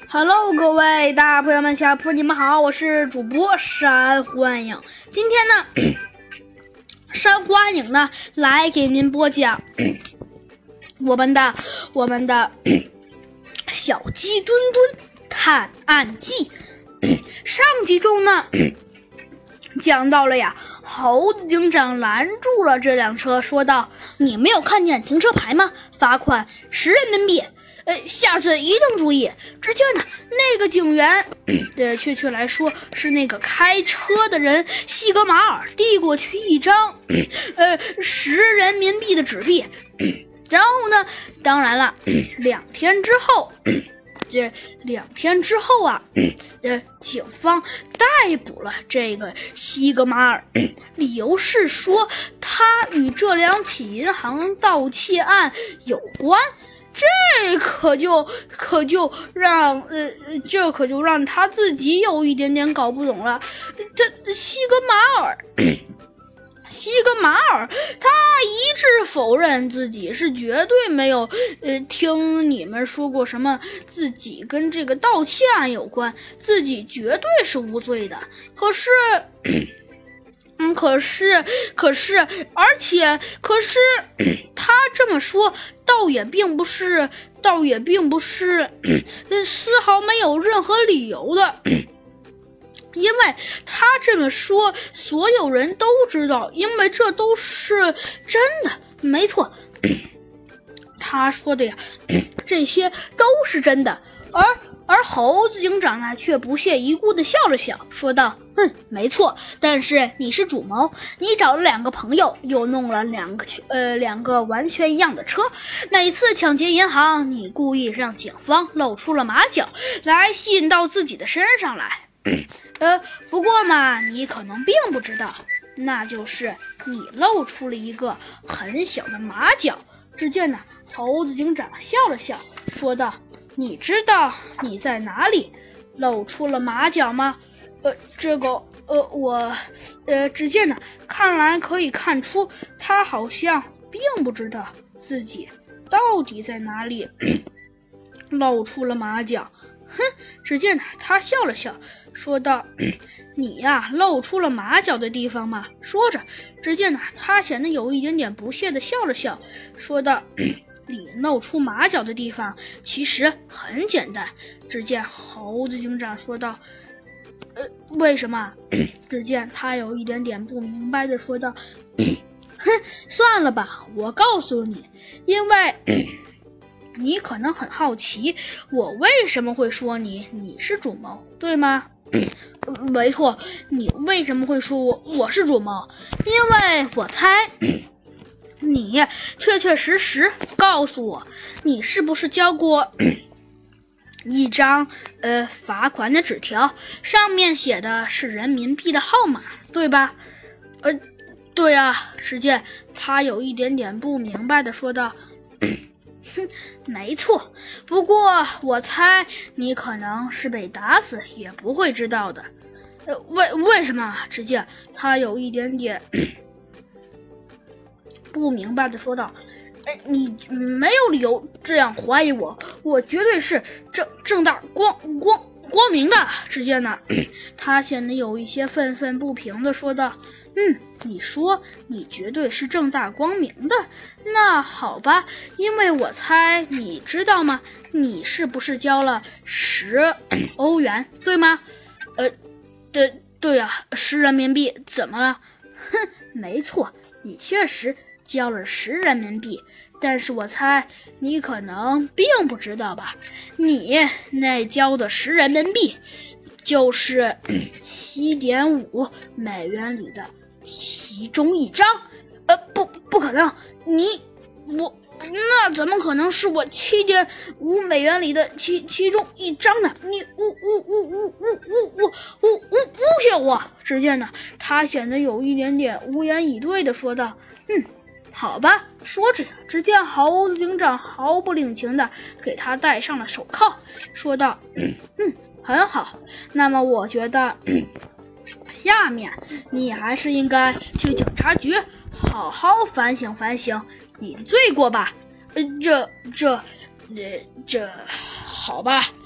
Hello， 各位大朋友们、小朋友们，你们好，我是主播山欢迎。今天呢，山欢迎呢来给您播讲我们的小鸡墩墩探案记。上集中呢，讲到了呀，猴子警长拦住了这辆车，说道：“你没有看见停车牌吗？罚款10人民币。下次一定注意。”只见呢，那个警员，确切来说是那个开车的人西格马尔，递过去一张10人民币的纸币。然后呢，当然了，2天之后。2天之后啊，警方逮捕了这个西格马尔，理由是说他与这两起银行盗窃案有关。这可就让他自己有一点点搞不懂了。这西格马尔他一致否认自己是绝对没有听你们说过什么自己跟这个盗窃案有关，自己绝对是无罪的。可是他这么说倒也并不是丝毫没有任何理由的。因为他这么说，所有人都知道，因为这都是真的，没错。他说的呀，这些都是真的。而猴子警长呢，却不屑一顾地笑了笑，说道：“没错，但是你是主谋，你找了2个朋友，又弄了两个完全一样的车。每次抢劫银行，你故意让警方露出了马脚，来吸引到自己的身上来。不过嘛，你可能并不知道，那就是你露出了一个很小的马脚。”只见呢，猴子警长笑了笑，说道：“你知道你在哪里露出了马脚吗？”只见呢，看来可以看出，他好像并不知道自己到底在哪里露出了马脚。只见呢，他笑了笑，说道：“你呀，露出了马脚的地方嘛。”说着，只见呢，他显得有一点点不屑地笑了笑，说道：“你露出马脚的地方其实很简单。”只见猴子警长说道：“为什么？”只见他有一点点不明白地说道：“算了吧，我告诉你，因为你可能很好奇，我为什么会说你是主谋，对吗？”没错，你为什么会说我是主谋？因为我猜你确确实实告诉我，你是不是交过一张罚款的纸条，上面写的是人民币的号码，对吧？对啊。只见他有一点点不明白的说道：“没错，不过我猜你可能是被打死也不会知道的。”为什么？只见他有一点点不明白的说道：“你没有理由这样怀疑我，我绝对是正大光明的。”只见呢，他显得有一些愤愤不平的说道：“你说你绝对是正大光明的，那好吧，因为我猜你知道吗？你是不是交了10欧元，对吗？”对啊，10人民币，怎么了？没错，你确实交了10人民币，但是我猜你可能并不知道吧？你那交的10人民币就是7.5美元里的其中一张。不可能，那怎么可能是我7.5美元里的其中一张呢？你诬陷我！只见呢，他显得有一点点无言以对的说道：“好吧。”说着，只见猴子警长毫不领情的给他戴上了手铐，说道：“很好，那么我觉得下面你还是应该去警察局好好反省反省你的罪过吧。”这好吧。